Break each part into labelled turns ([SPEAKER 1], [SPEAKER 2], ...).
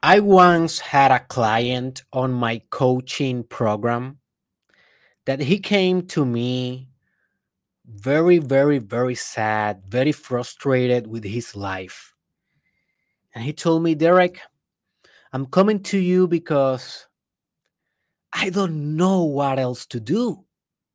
[SPEAKER 1] I once had a client on my coaching program that he came to me very, very, very sad, very frustrated with his life. And he told me, Derek, I'm coming to you because I don't know what else to do.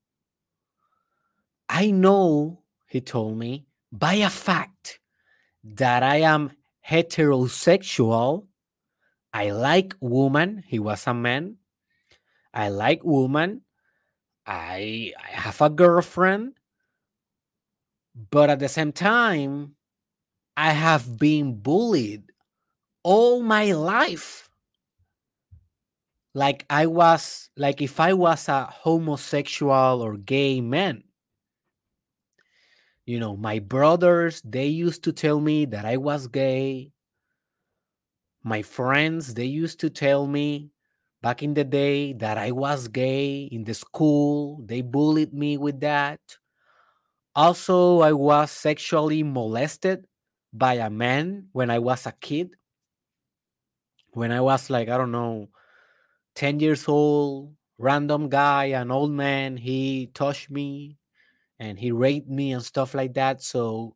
[SPEAKER 1] I know, he told me, by a fact that I am heterosexual. I like women. He was a man. I like women. I have a girlfriend, but at the same time, I have been bullied all my life. Like if I was a homosexual or gay man. My brothers, they used to tell me that I was gay. My friends, they used to tell me back in the day that I was gay in the school. They bullied me with that. Also, I was sexually molested by a man when I was a kid. When I was like, I don't know, 10 years old, random guy, an old man, he touched me and he raped me and stuff like that. So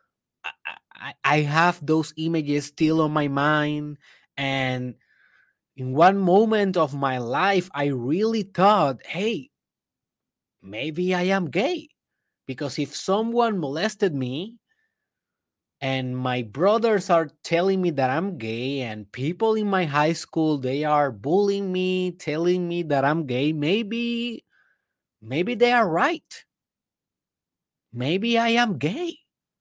[SPEAKER 1] I have those images still on my mind. And in one moment of my life, I really thought, hey, maybe I am gay. Because if someone molested me, and my brothers are telling me that I'm gay, and people in my high school, they are bullying me, telling me that I'm gay, maybe they are right. Maybe I am gay.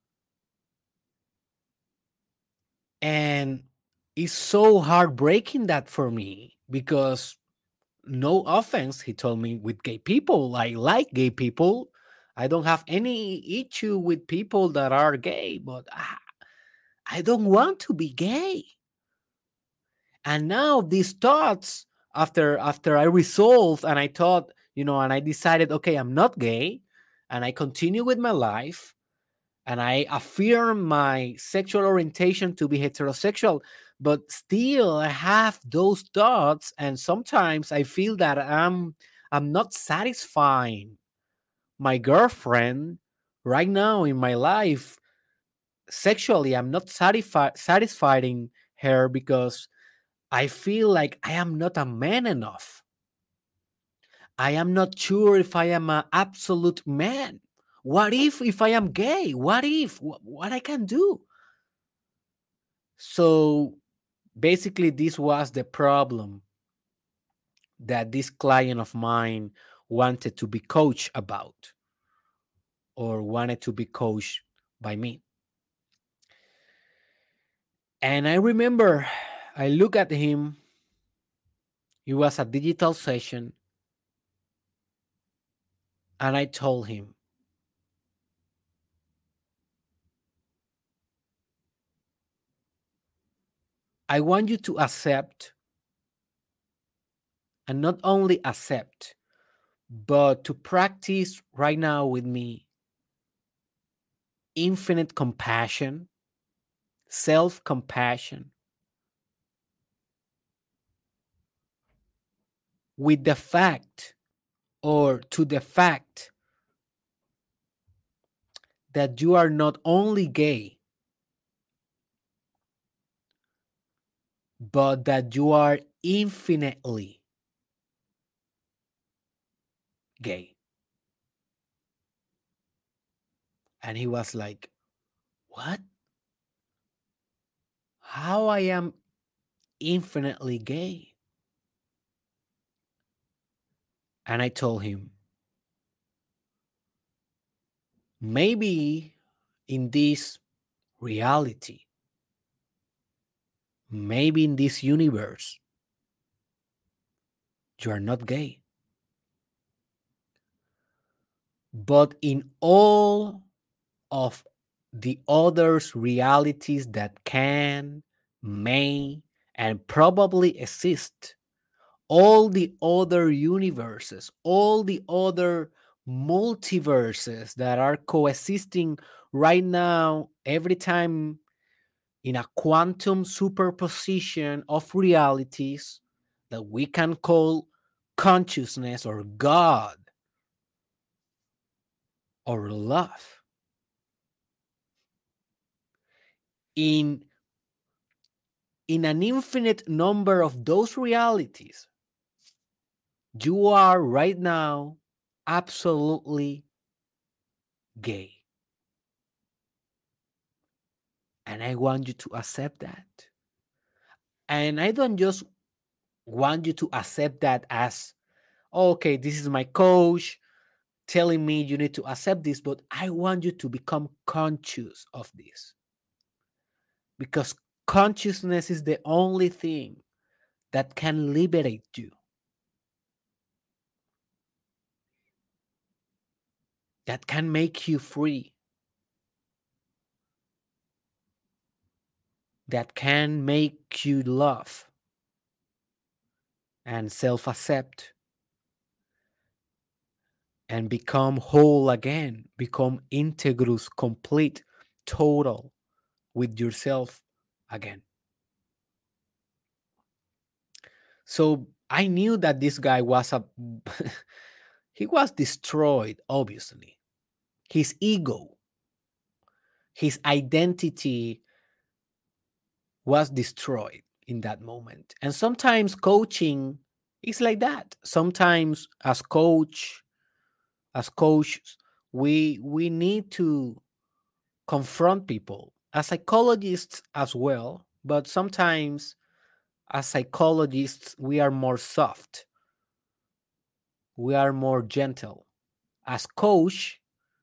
[SPEAKER 1] And it's so heartbreaking that for me because no offense, he told me, with gay people. I like gay people. I don't have any issue with people that are gay, but I don't want to be gay. And now these thoughts, after I resolved and I thought, and I decided, okay, I'm not gay, and I continue with my life, and I affirm my sexual orientation to be heterosexual, but still I have those thoughts, and sometimes I feel that I'm not satisfying my girlfriend right now in my life sexually. I'm not satisfying her because I feel like I am not a man enough. I am not sure if I am an absolute man. What if I am gay? What if what I can do? So basically this was the problem that this client of mine wanted to be coached about or wanted to be coached by me. And I remember I look at him. It was a digital session, and I told him, I want you to accept, and not only accept, but to practice right now with me infinite compassion, self compassion, with the fact or to the fact that you are not only gay, but that you are infinitely gay. And he was like, what? How I am infinitely gay? And I told him, maybe in this reality, maybe in this universe, you are not gay. But in all of the others realities that can, may, and probably exist, all the other universes, all the other multiverses that are coexisting right now, every time in a quantum superposition of realities that we can call consciousness or God or love. In, in an infinite number of those realities, you are right now absolutely gay. And I want you to accept that. And I don't just want you to accept that as, okay, this is my coach telling me you need to accept this, but I want you to become conscious of this because consciousness is the only thing that can liberate you, that can make you free, that can make you love and self accept and become whole again, become integrous, complete, total with yourself again. So I knew that this guy was a he was destroyed, obviously. His ego, his identity was destroyed in that moment. And sometimes coaching is like that. Sometimes as coaches, we need to confront people as psychologists as well, but sometimes as psychologists we are more soft, we are more gentle. As coach,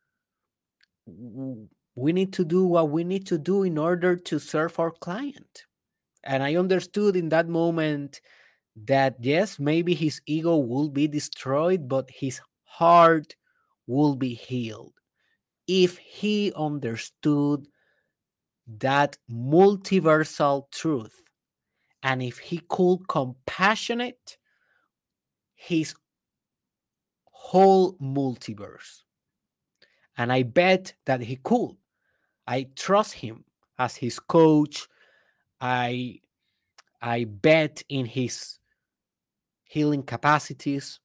[SPEAKER 1] we need to do what we need to do in order to serve our client. And I understood in that moment that yes, maybe his ego will be destroyed, but his heart will be healed if he understood that multiversal truth and if he could compassionate his whole multiverse. And I bet that he could. I trust him as his coach. I I bet in his healing capacities,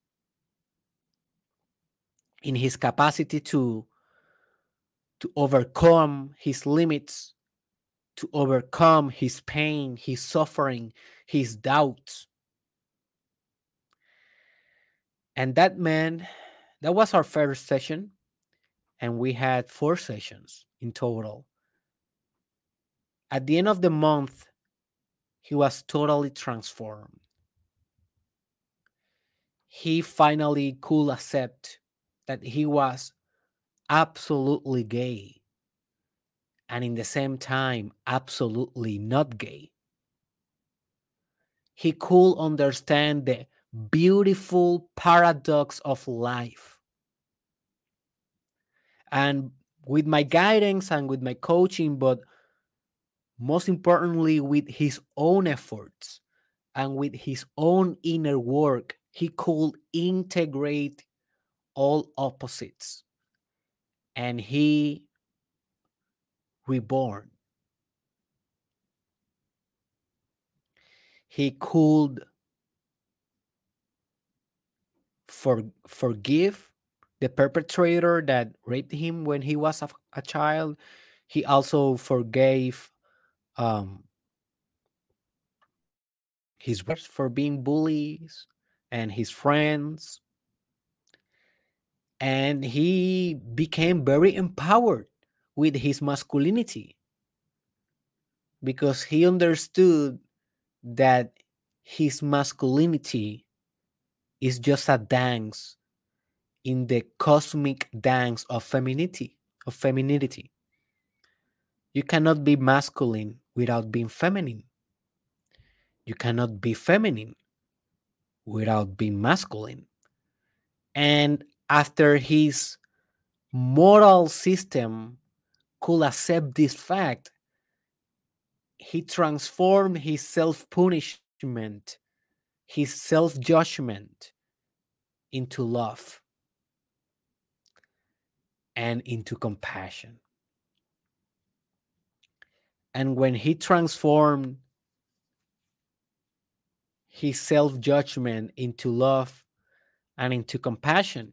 [SPEAKER 1] in his capacity to overcome his limits, to overcome his pain, his suffering, his doubts. And that man, that was our first session, and we had 4 sessions in total. At the end of the month, he was totally transformed. He finally could accept that he was absolutely gay and in the same time absolutely not gay. He could understand the beautiful paradox of life. And with my guidance and with my coaching, but most importantly, with his own efforts and with his own inner work, he could integrate all opposites and he reborn. He could forgive the perpetrator that raped him when he was a child. He also forgave um, his brothers for being bullies and his friends. And he became very empowered with his masculinity because he understood that his masculinity is just a dance in the cosmic dance of femininity. You cannot be masculine without being feminine. You cannot be feminine without being masculine. And after his moral system could accept this fact, he transformed his self punishment, his self judgment into love and into compassion. And when he transformed his self judgment into love and into compassion,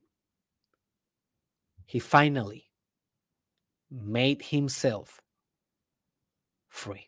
[SPEAKER 1] he finally made himself free.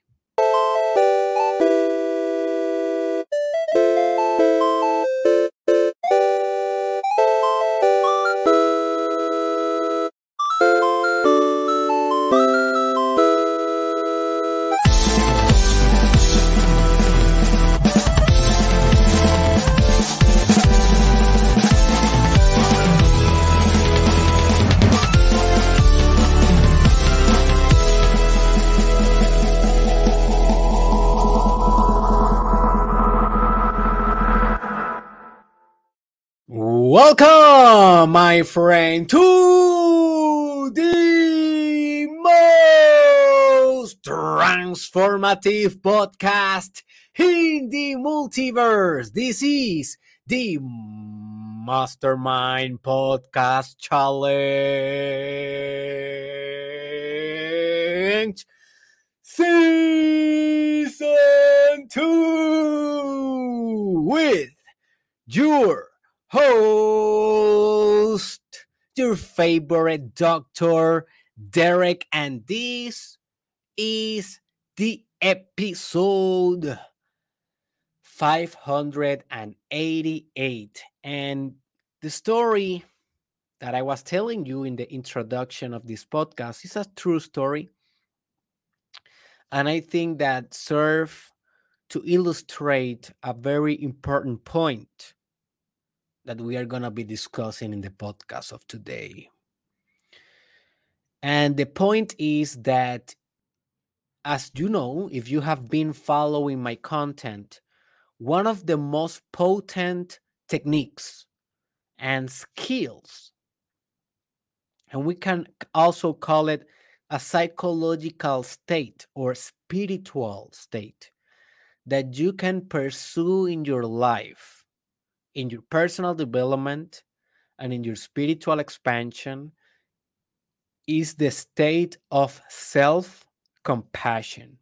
[SPEAKER 1] Welcome, my friend, to the most transformative podcast in the multiverse. This is the Mastermind Podcast Challenge Season 2 with your host, your favorite doctor, Derek, and this is the episode 588. And the story that I was telling you in the introduction of this podcast is a true story. And I think that serve to illustrate a very important point that we are going to be discussing in the podcast of today. And the point is that, as you know, if you have been following my content, one of the most potent techniques and skills, and we can also call it a psychological state or spiritual state that you can pursue in your life, in your personal development, and in your spiritual expansion, is the state of self compassion.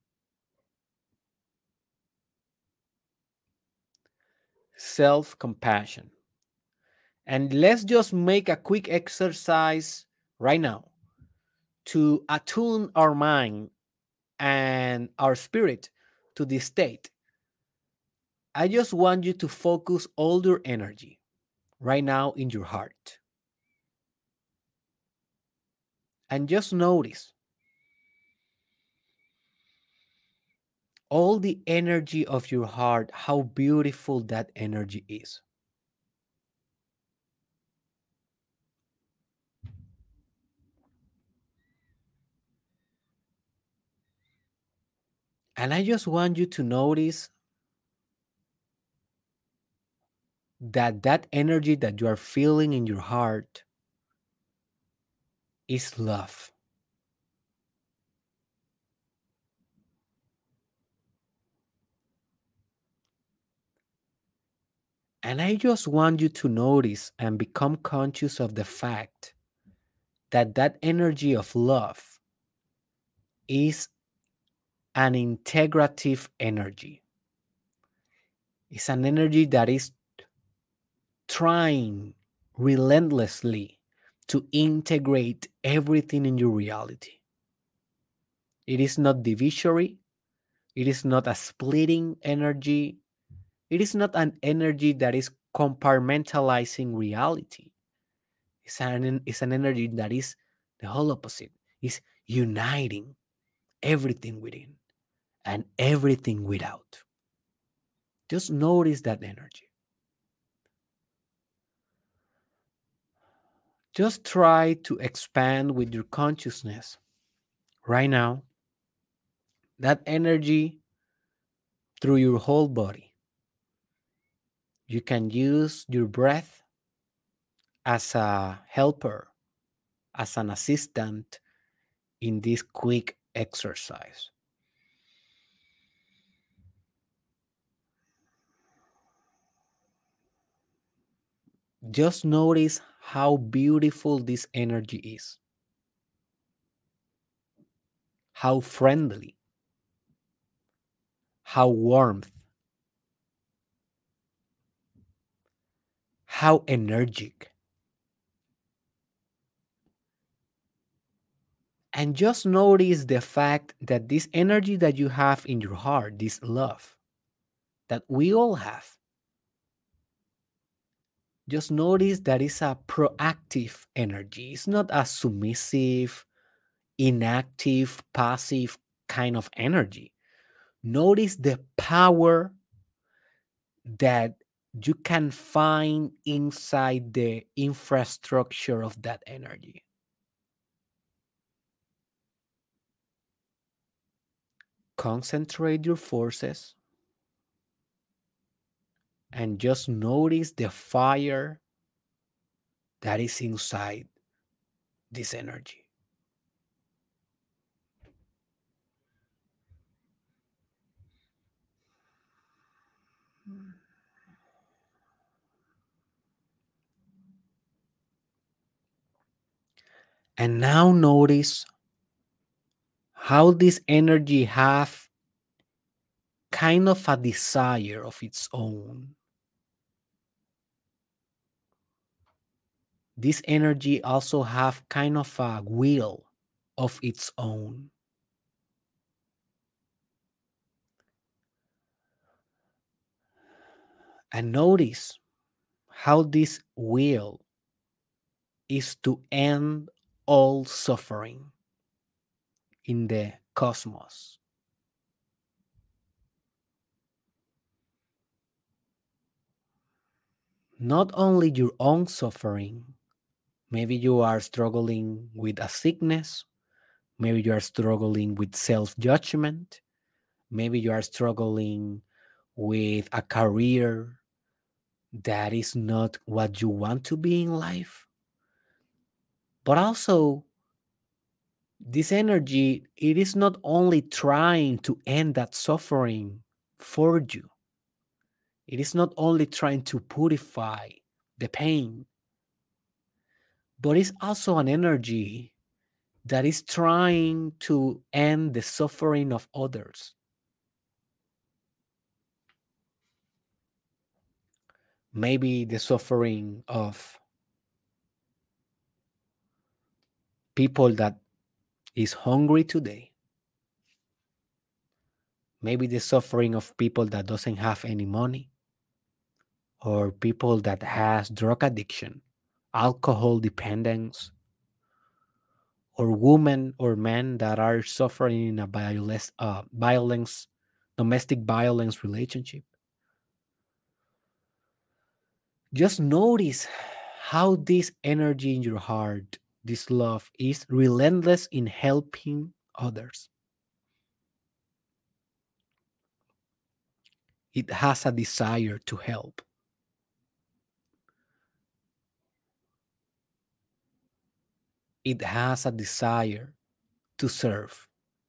[SPEAKER 1] Self compassion. And let's just make a quick exercise right now to attune our mind and our spirit to this state. I just want you to focus all your energy right now in your heart. And just notice all the energy of your heart, how beautiful that energy is. And I just want you to notice that that energy that you are feeling in your heart is love. And I just want you to notice and become conscious of the fact that that energy of love is an integrative energy. It's an energy that is trying relentlessly to integrate everything in your reality. It is not divisory. It is not a splitting energy. It is not an energy that is compartmentalizing reality. It's an energy that is the whole opposite. It's uniting everything within and everything without. Just notice that energy. Just try to expand with your consciousness right now that energy through your whole body. You can use your breath as a helper, as an assistant in this quick exercise. Just notice how beautiful this energy is, how friendly, how warmth, how energetic. And just notice the fact that this energy that you have in your heart, this love that we all have, just notice that it's a proactive energy. It's not a submissive, inactive, passive kind of energy. Notice the power that you can find inside the infrastructure of that energy. Concentrate your forces and just notice the fire that is inside this energy. And now notice how this energy have kind of a desire of its own. This energy also have kind of a will of its own. And notice how this will is to end all suffering in the cosmos. Not only your own suffering, maybe you are struggling with a sickness, maybe you are struggling with self judgment, maybe you are struggling with a career that is not what you want to be in life. But also, this energy, it is not only trying to end that suffering for you, it is not only trying to purify the pain, but it's also an energy that is trying to end the suffering of others. Maybe the suffering of people that is hungry today. Maybe the suffering of people that doesn't have any money, or people that has drug addiction, alcohol dependence, or women or men that are suffering in a violence, domestic violence relationship. Just notice how this energy in your heart, this love, is relentless in helping others. It has a desire to help. It has a desire to serve.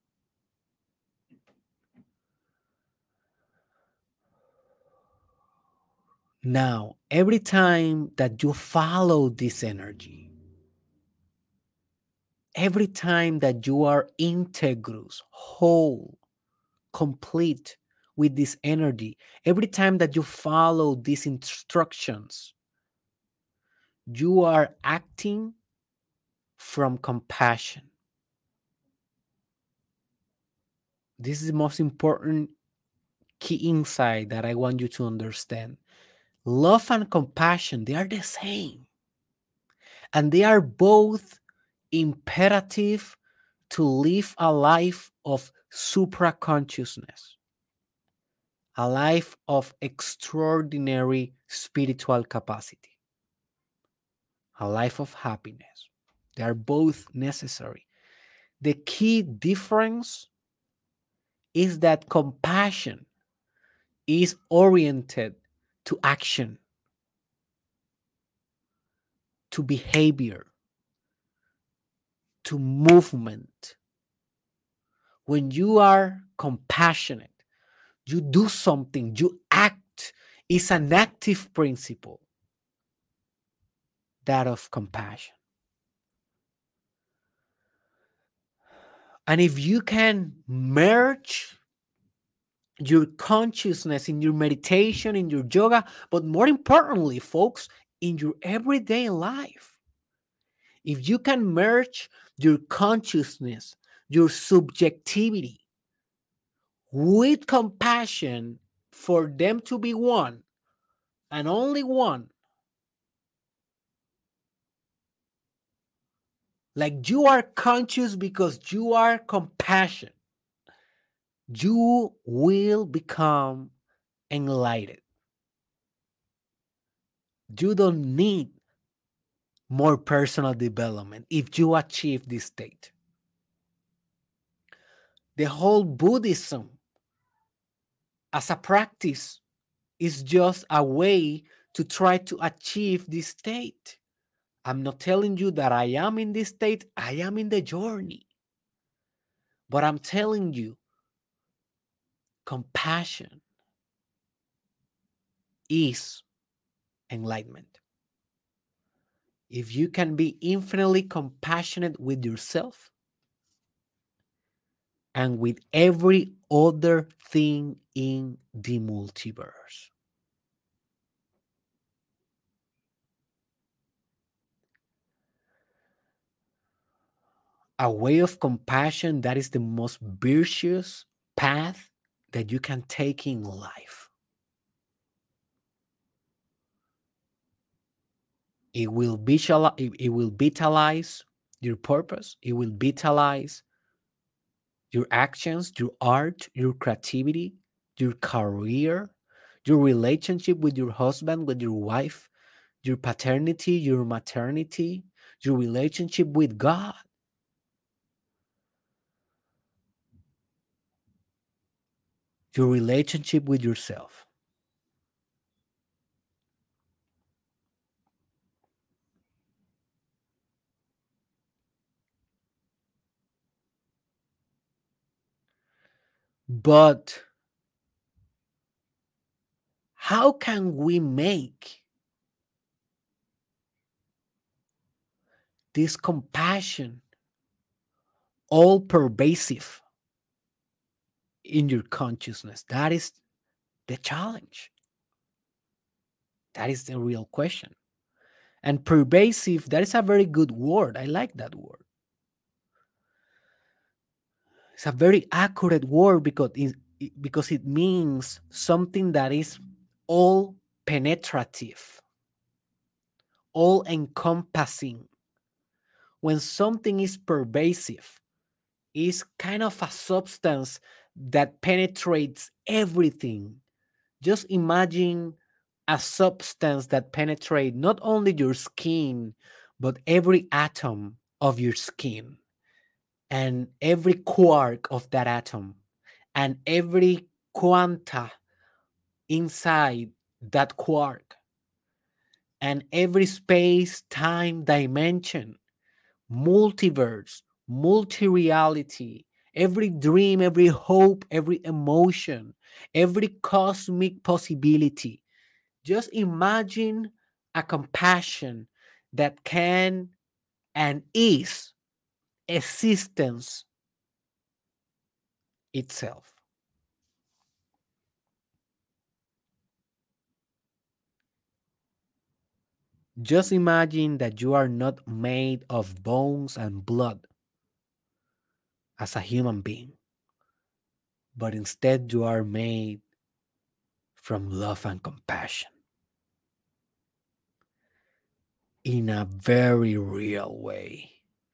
[SPEAKER 1] Now, every time that you follow this energy, every time that you are integrous, whole, complete with this energy, every time that you follow these instructions, you are acting from compassion. This is the most important key insight that I want you to understand. Love and compassion, they are the same. And they are both imperative to live a life of supra consciousness, a life of extraordinary spiritual capacity, a life of happiness. They are both necessary. The key difference is that compassion is oriented to action, to behavior, to movement. When you are compassionate, you do something, you act. It's an active principle, that of compassion. And if you can merge your consciousness in your meditation, in your yoga, but more importantly, folks, in your everyday life. If you can merge your consciousness, your subjectivity with compassion for them to be one and only one, like you are conscious because you are compassion, you will become enlightened. You don't need more personal development if you achieve this state. The whole Buddhism as a practice is just a way to try to achieve this state. I'm not telling you that I am in this state, I am in the journey. But I'm telling you, compassion is enlightenment. If you can be infinitely compassionate with yourself and with every other thing in the multiverse. A way of compassion that is the most virtuous path that you can take in life. It will vitalize your purpose. It will vitalize your actions, your art, your creativity, your career, your relationship with your husband, with your wife, your paternity, your maternity, your relationship with God. Your relationship with yourself. But how can we make this compassion all pervasive in your consciousness? That is the challenge. That is the real question. And pervasive, that is a very good word. I like that word. It's a very accurate word because it means something that is all penetrative, all encompassing. When something is pervasive, is kind of a substance that penetrates everything. Just imagine a substance that penetrates not only your skin, but every atom of your skin and every quark of that atom and every quanta inside that quark and every space time dimension, multiverse, multi reality, every dream, every hope, every emotion, every cosmic possibility. Just imagine a compassion that can and is existence itself. Just imagine that you are not made of bones and blood as a human being, but instead you are made from love and compassion in a very real way.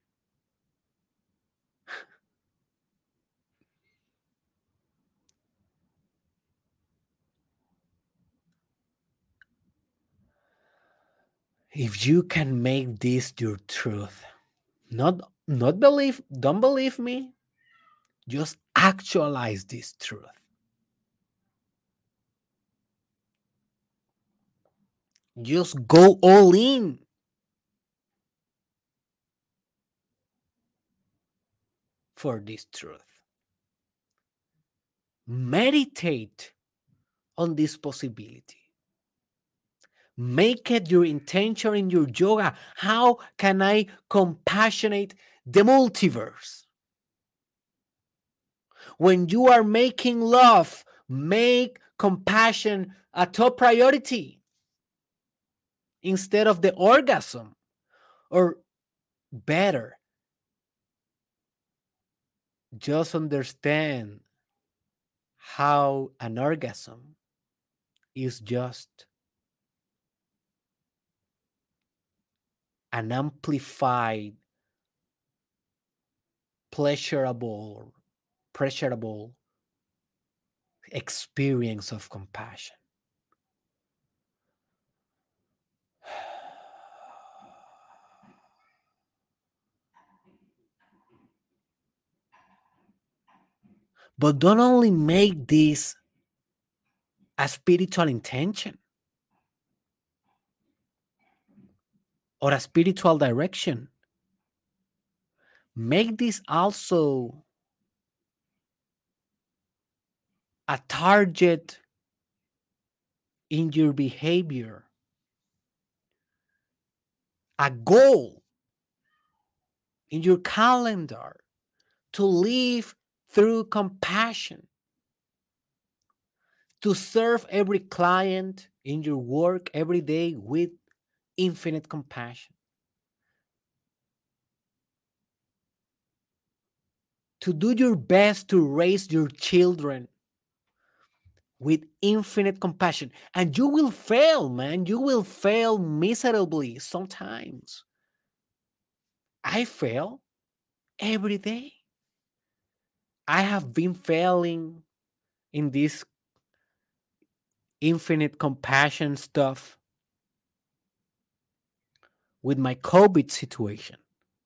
[SPEAKER 1] If you can make this your truth, not believe, don't believe me, just actualize this truth. Just go all in for this truth. Meditate on this possibility. Make it your intention in your yoga. How can I compassionate the multiverse? When you are making love, Make compassion a top priority instead of the orgasm. Or better, just understand how an orgasm is just an amplified, pleasurable, pleasurable experience of compassion. But don't only make this a spiritual intention or a spiritual direction. Make this also a target in your behavior, a goal in your calendar to live through compassion, to serve every client in your work every day with infinite compassion, to do your best to raise your children with infinite compassion. And you will fail, man. You will fail miserably sometimes. I fail every day. I have been failing in this infinite compassion stuff with my COVID situation.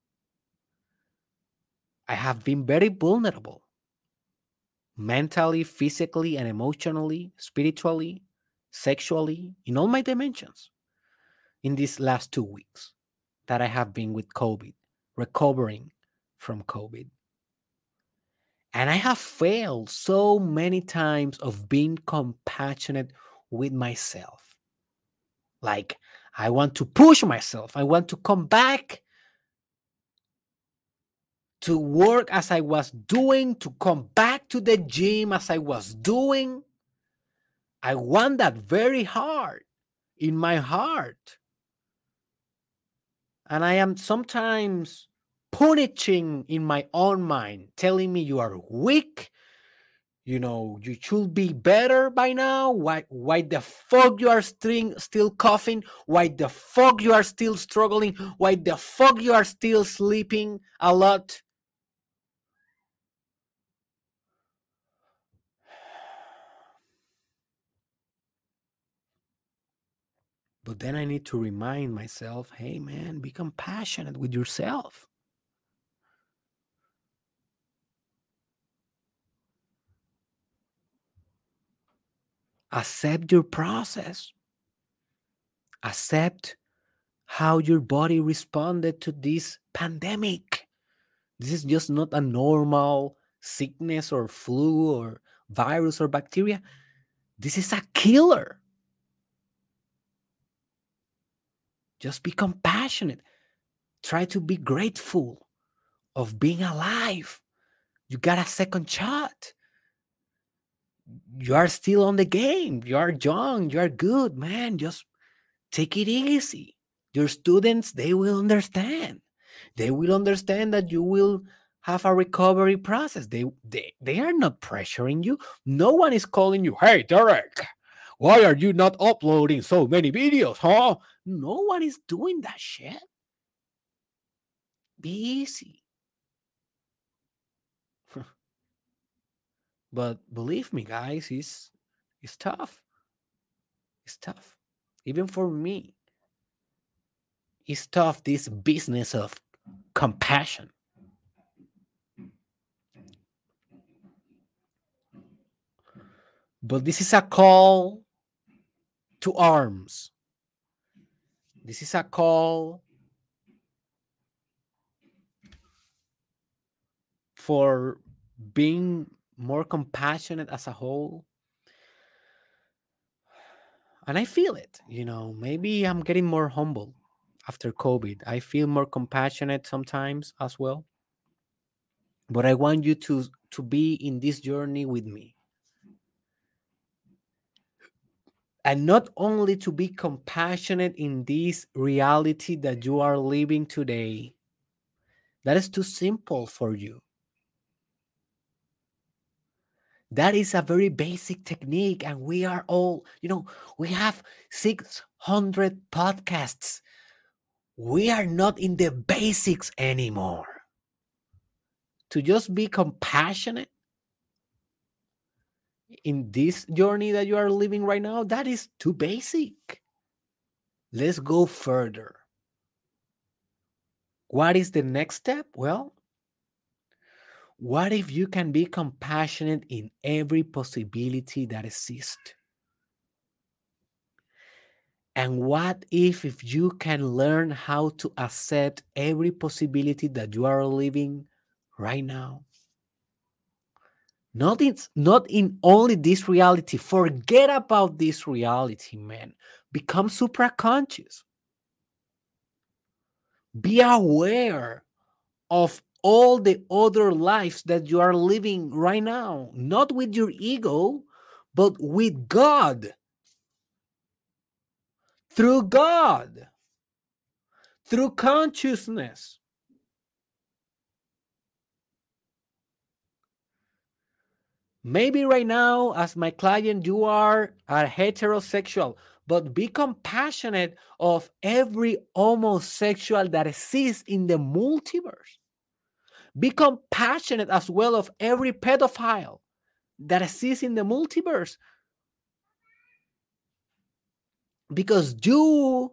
[SPEAKER 1] I have been very vulnerable mentally, physically, and emotionally, spiritually, sexually, in all my dimensions in these last 2 weeks that I have been with COVID, recovering from COVID. And I have failed so many times of being compassionate with myself. Like, I want to push myself. I want to come back to work as I was doing, to come back to the gym as I was doing. I want that very hard in my heart. And I am sometimes punishing in my own mind, telling me you are weak. You should be better by now. Why the fuck you are still coughing? Why the fuck you are still struggling? Why the fuck you are still sleeping a lot? But then I need to remind myself, hey man, be compassionate with yourself. Accept your process. Accept how your body responded to this pandemic. This is just not a normal sickness or flu or virus or bacteria. This is a killer. Just be compassionate. Try to be grateful of being alive. You got a second shot. You are still on the game. You are young. You are good, man. Just take it easy. Your students, they will understand. They will understand that you will have a recovery process. They are not pressuring you. No one is calling you, hey, Derek, why are you not uploading so many videos, huh? No one is doing that shit. Be easy. But believe me, guys, it's tough. It's tough. Even for me, it's tough, this business of compassion. But this is a call to arms. This is a call for being more compassionate as a whole. And I feel it, maybe I'm getting more humble after COVID. I feel more compassionate sometimes as well. But I want you to be in this journey with me. And not only to be compassionate in this reality that you are living today, that is too simple for you. That is a very basic technique. And we are all, we have 600 podcasts. We are not in the basics anymore. To just be compassionate in this journey that you are living right now, that is too basic. Let's go further. What is the next step? Well, what if you can be compassionate in every possibility that exists? And what if you can learn how to accept every possibility that you are living right now? Not in only this reality. Forget about this reality, man. Become supraconscious. Be aware of all the other lives that you are living right now, not with your ego, but with God, through God, through consciousness. Maybe right now, as my client, you are a heterosexual, but be compassionate of every homosexual that exists in the multiverse. Be compassionate as well of every pedophile that exists in the multiverse. Because you,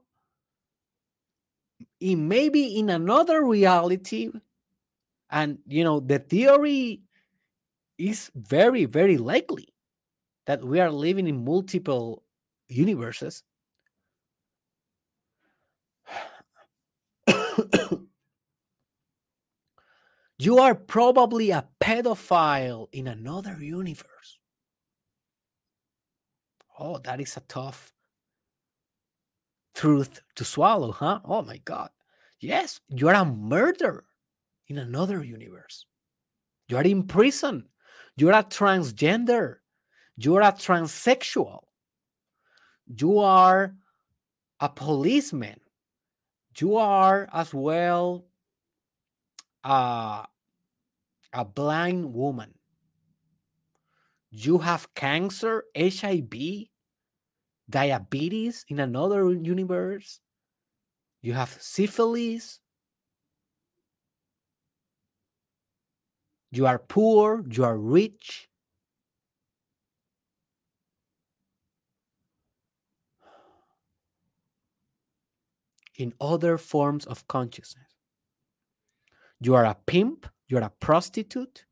[SPEAKER 1] maybe in another reality, and the theory is very, very likely that we are living in multiple universes. You are probably a pedophile in another universe. Oh, that is a tough truth to swallow, huh? Oh my God. Yes, you are a murderer in another universe. You are in prison. You are a transgender. You are a transsexual. You are a policeman. You are as well a, a blind woman. You have cancer, HIV, diabetes in another universe. You have syphilis. You are poor. You are rich. In other forms of consciousness. You are a pimp. You are a prostitute.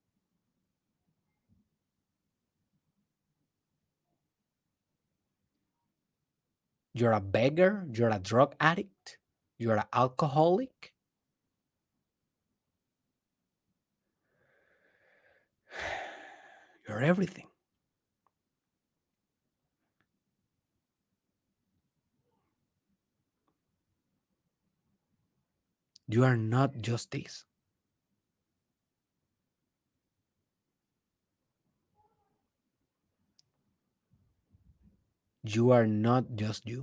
[SPEAKER 1] You're a beggar. You're a drug addict. You're an alcoholic. You're everything. You are not just this. You are not just you.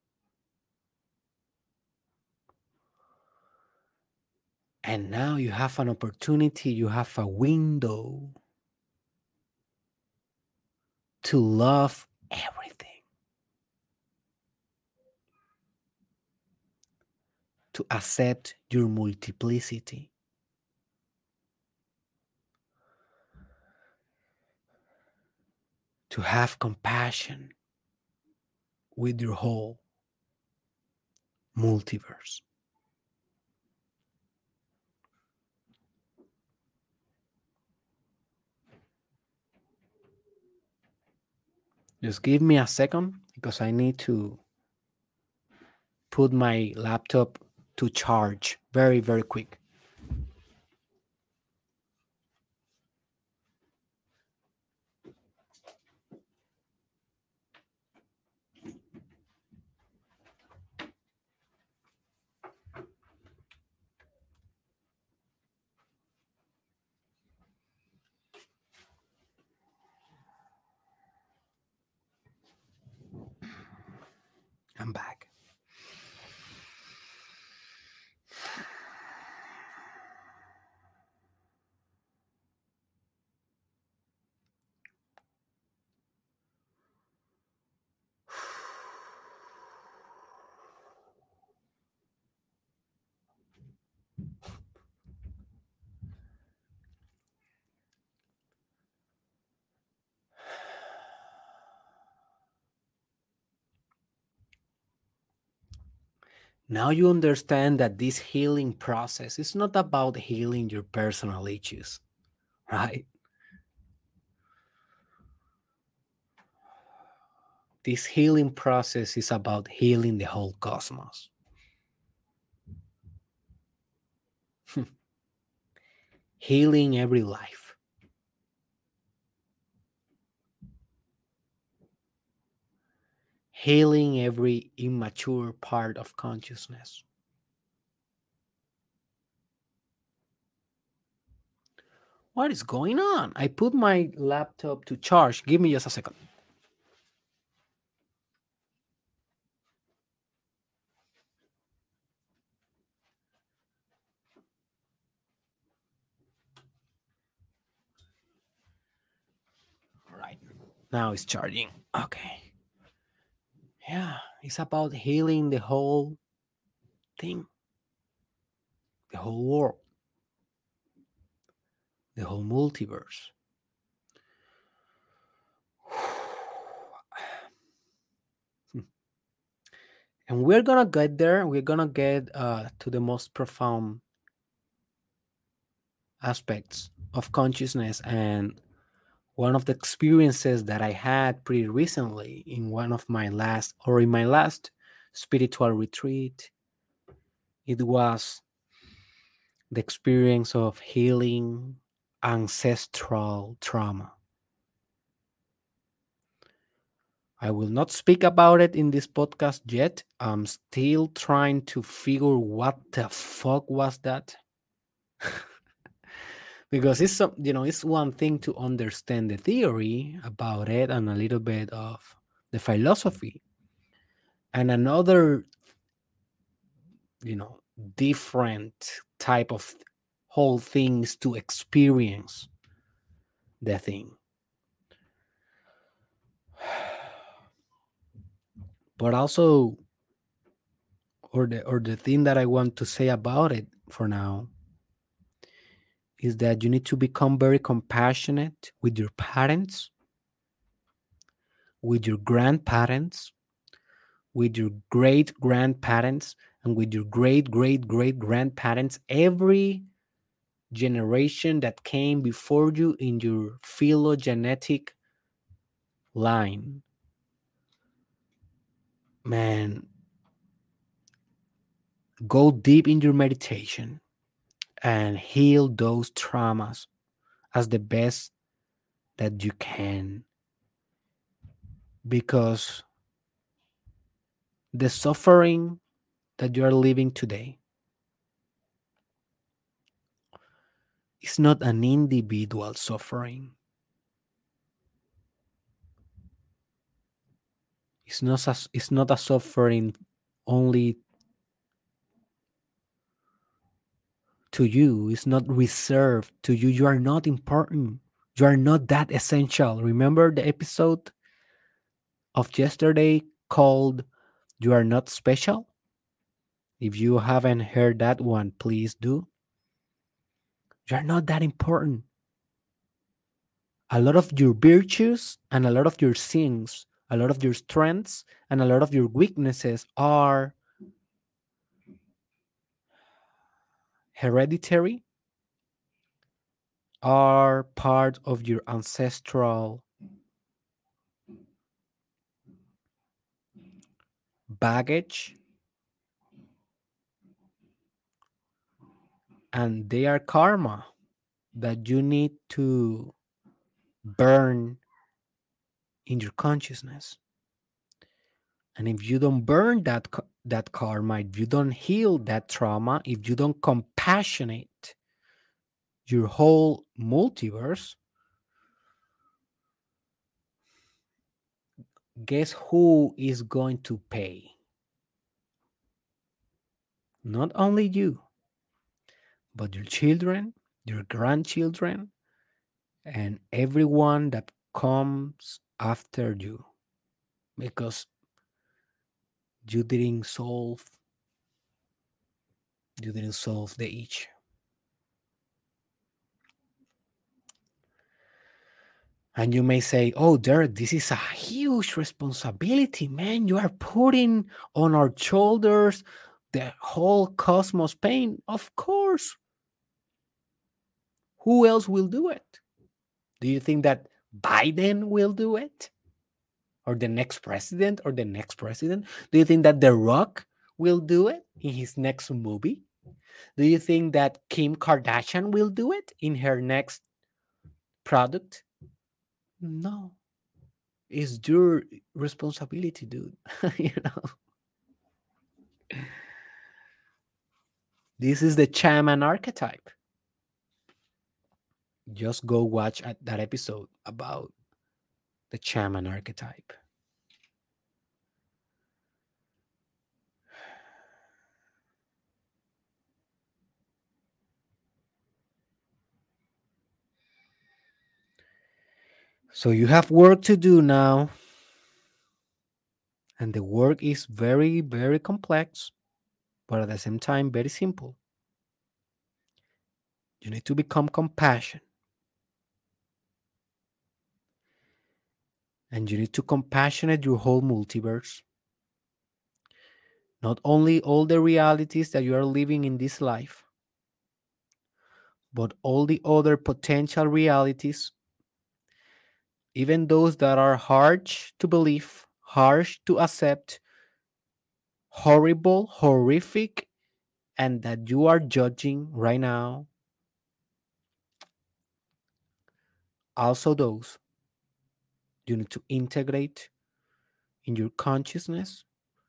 [SPEAKER 1] And now you have an opportunity, you have a window to love everything, to accept your multiplicity, to have compassion with your whole multiverse. Just give me a second because I need to put my laptop to charge very, very quick. I'm back. Now you understand that this healing process is not about healing your personal issues, right? This healing process is about healing the whole cosmos, healing every life, healing every immature part of consciousness. What is going on? I put my laptop to charge. Give me just a second. All right. Now it's charging. Okay. Yeah, it's about healing the whole thing, the whole world, the whole multiverse. And we're gonna get there. We're gonna get to the most profound aspects of consciousness. And one of the experiences that I had pretty recently in one of my last, or in my last spiritual retreat, it was the experience of healing ancestral trauma. I will not speak about it in this podcast yet. I'm still trying to figure what the fuck was that. Because it's some, it's one thing to understand the theory about it and a little bit of the philosophy, and another, you know, different type of whole things to experience the thing. But also, or the thing that I want to say about it for now is that you need to become very compassionate with your parents, with your grandparents, with your great grandparents, and with your great great great grandparents, every generation that came before you in your phylogenetic line. Man, go deep in your meditation and heal those traumas as the best that you can, because the suffering that you are living today is not an individual suffering. It's not a suffering only to you. It's not reserved to you. You are not important. You are not that essential. Remember the episode of yesterday called You Are Not Special? If you haven't heard that one, please do. You are not that important. A lot of your virtues and a lot of your sins, a lot of your strengths and a lot of your weaknesses are hereditary, are part of your ancestral baggage, and they are karma that you need to burn in your consciousness. And if you don't burn that karma, if you don't heal that trauma, if you don't compassionate your whole multiverse, guess who is going to pay? Not only you, but your children, your grandchildren, and everyone that comes after you, because you didn't solve you didn't solve the issue. And you may say, "Oh, Derek, this is a huge responsibility, man. You are putting on our shoulders the whole cosmos pain." Of course. Who else will do it? Do you think that Biden will do it? Or the next president or the next president? Do you think that The Rock will do it in his next movie? Do you think that Kim Kardashian will do it in her next product? No. It's your responsibility, dude. you know, this is the shaman archetype. Just go watch that episode about the shaman archetype. So you have work to do now, and the work is very, very complex, but at the same time, very simple. You need to become compassionate, and you need to compassionate your whole multiverse. Not only all the realities that you are living in this life, but all the other potential realities, even those that are harsh to believe, harsh to accept, horrible, horrific, and that you are judging right now. Also, those you need to integrate in your consciousness,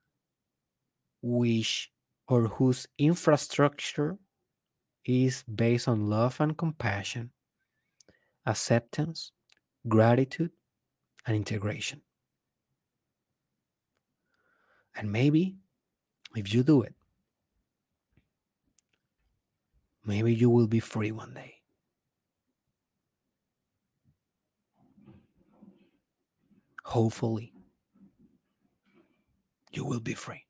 [SPEAKER 1] which or whose infrastructure is based on love and compassion, acceptance, gratitude, and integration. And maybe if you do it, maybe you will be free one day. Hopefully, you will be free.